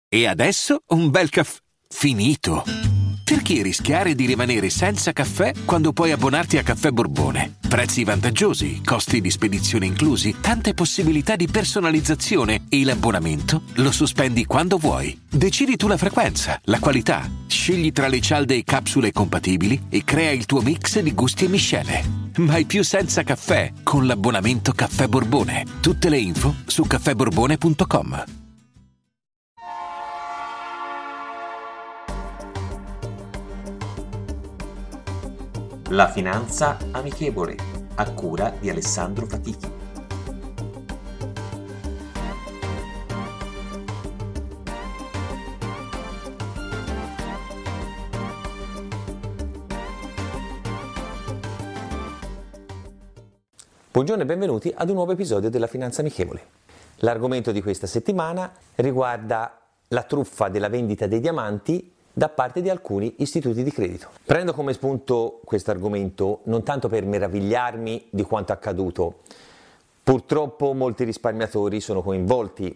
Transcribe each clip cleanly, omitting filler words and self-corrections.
E adesso un bel caffè finito. Perché rischiare di rimanere senza caffè quando puoi abbonarti a Caffè Borbone? Prezzi vantaggiosi, costi di spedizione inclusi, tante possibilità di personalizzazione e l'abbonamento lo sospendi quando vuoi. Decidi tu la frequenza, la qualità, scegli tra le cialde e capsule compatibili e crea il tuo mix di gusti e miscele. Mai più senza caffè con l'abbonamento Caffè Borbone. Tutte le info su caffèborbone.com. La finanza amichevole, a cura di Alessandro Fatichi. Buongiorno e benvenuti ad un nuovo episodio della Finanza Amichevole. L'argomento di questa settimana riguarda la truffa della vendita dei diamanti da parte di alcuni istituti di credito. Prendo come spunto questo argomento non tanto per meravigliarmi di quanto accaduto. Purtroppo molti risparmiatori sono coinvolti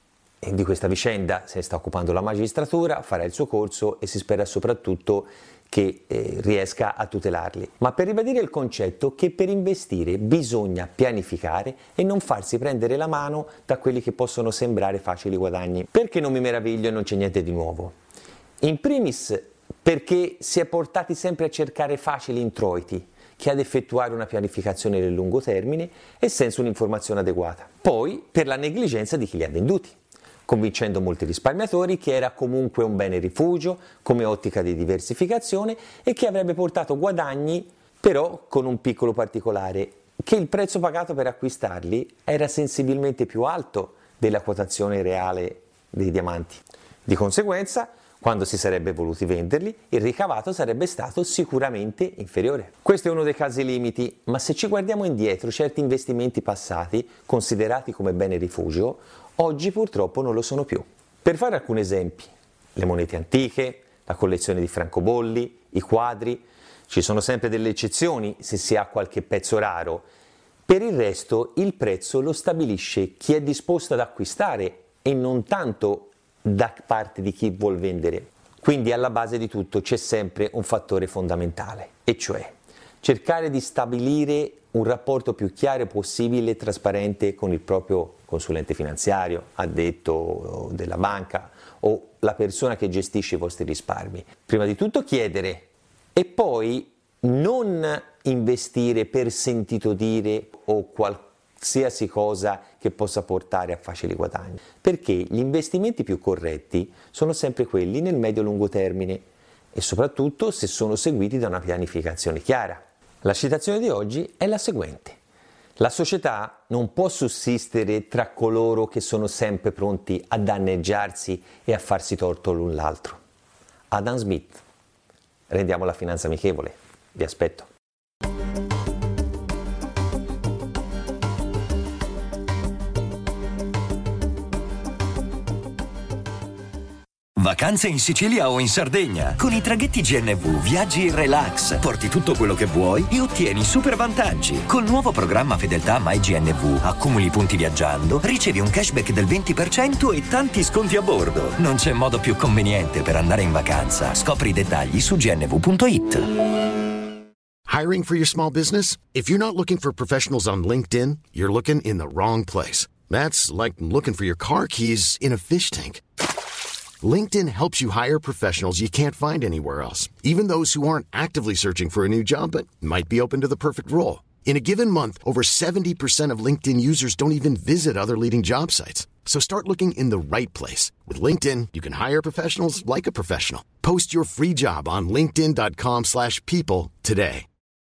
e di questa vicenda se ne sta occupando la magistratura, farà il suo corso e si spera soprattutto che riesca a tutelarli. Ma per ribadire il concetto che per investire bisogna pianificare e non farsi prendere la mano da quelli che possono sembrare facili guadagni. Perché non mi meraviglio e non c'è niente di nuovo? In primis perché si è portati sempre a cercare facili introiti che ad effettuare una pianificazione nel lungo termine e senza un'informazione adeguata. Poi per la negligenza di chi li ha venduti, convincendo molti risparmiatori che era comunque un bene rifugio come ottica di diversificazione e che avrebbe portato guadagni, però con un piccolo particolare, che il prezzo pagato per acquistarli era sensibilmente più alto della quotazione reale dei diamanti. Di conseguenza, quando si sarebbe voluti venderli, il ricavato sarebbe stato sicuramente inferiore. Questo è uno dei casi limiti, ma se ci guardiamo indietro, certi investimenti passati, considerati come bene rifugio, oggi purtroppo non lo sono più. Per fare alcuni esempi, le monete antiche, la collezione di francobolli, i quadri, ci sono sempre delle eccezioni se si ha qualche pezzo raro. Per il resto il prezzo lo stabilisce chi è disposto ad acquistare e non tanto da parte di chi vuol vendere. Quindi alla base di tutto c'è sempre un fattore fondamentale, e cioè cercare di stabilire un rapporto più chiaro possibile e trasparente con il proprio consulente finanziario, addetto della banca o la persona che gestisce i vostri risparmi. Prima di tutto chiedere e poi non investire per sentito dire o qualsiasi cosa che possa portare a facili guadagni, perché gli investimenti più corretti sono sempre quelli nel medio-lungo termine e soprattutto se sono seguiti da una pianificazione chiara. La citazione di oggi è la seguente: la società non può sussistere tra coloro che sono sempre pronti a danneggiarsi e a farsi torto l'un l'altro. Adam Smith. Rendiamo la finanza amichevole. Vi aspetto. Vacanze in Sicilia o in Sardegna. Con i traghetti GNV viaggi in relax, porti tutto quello che vuoi e ottieni super vantaggi. Col nuovo programma Fedeltà MyGNV accumuli punti viaggiando, ricevi un cashback del 20% e tanti sconti a bordo. Non c'è modo più conveniente per andare in vacanza. Scopri i dettagli su gnv.it. Hiring for your small business? If you're not looking for professionals on LinkedIn, you're looking in the wrong place. That's like looking for your car keys in a fish tank. LinkedIn helps you hire professionals you can't find anywhere else, even those who aren't actively searching for a new job but might be open to the perfect role. In a given month, over 70% of LinkedIn users don't even visit other leading job sites. So start looking in the right place. With LinkedIn, you can hire professionals like a professional. Post your free job on linkedin.com/people today.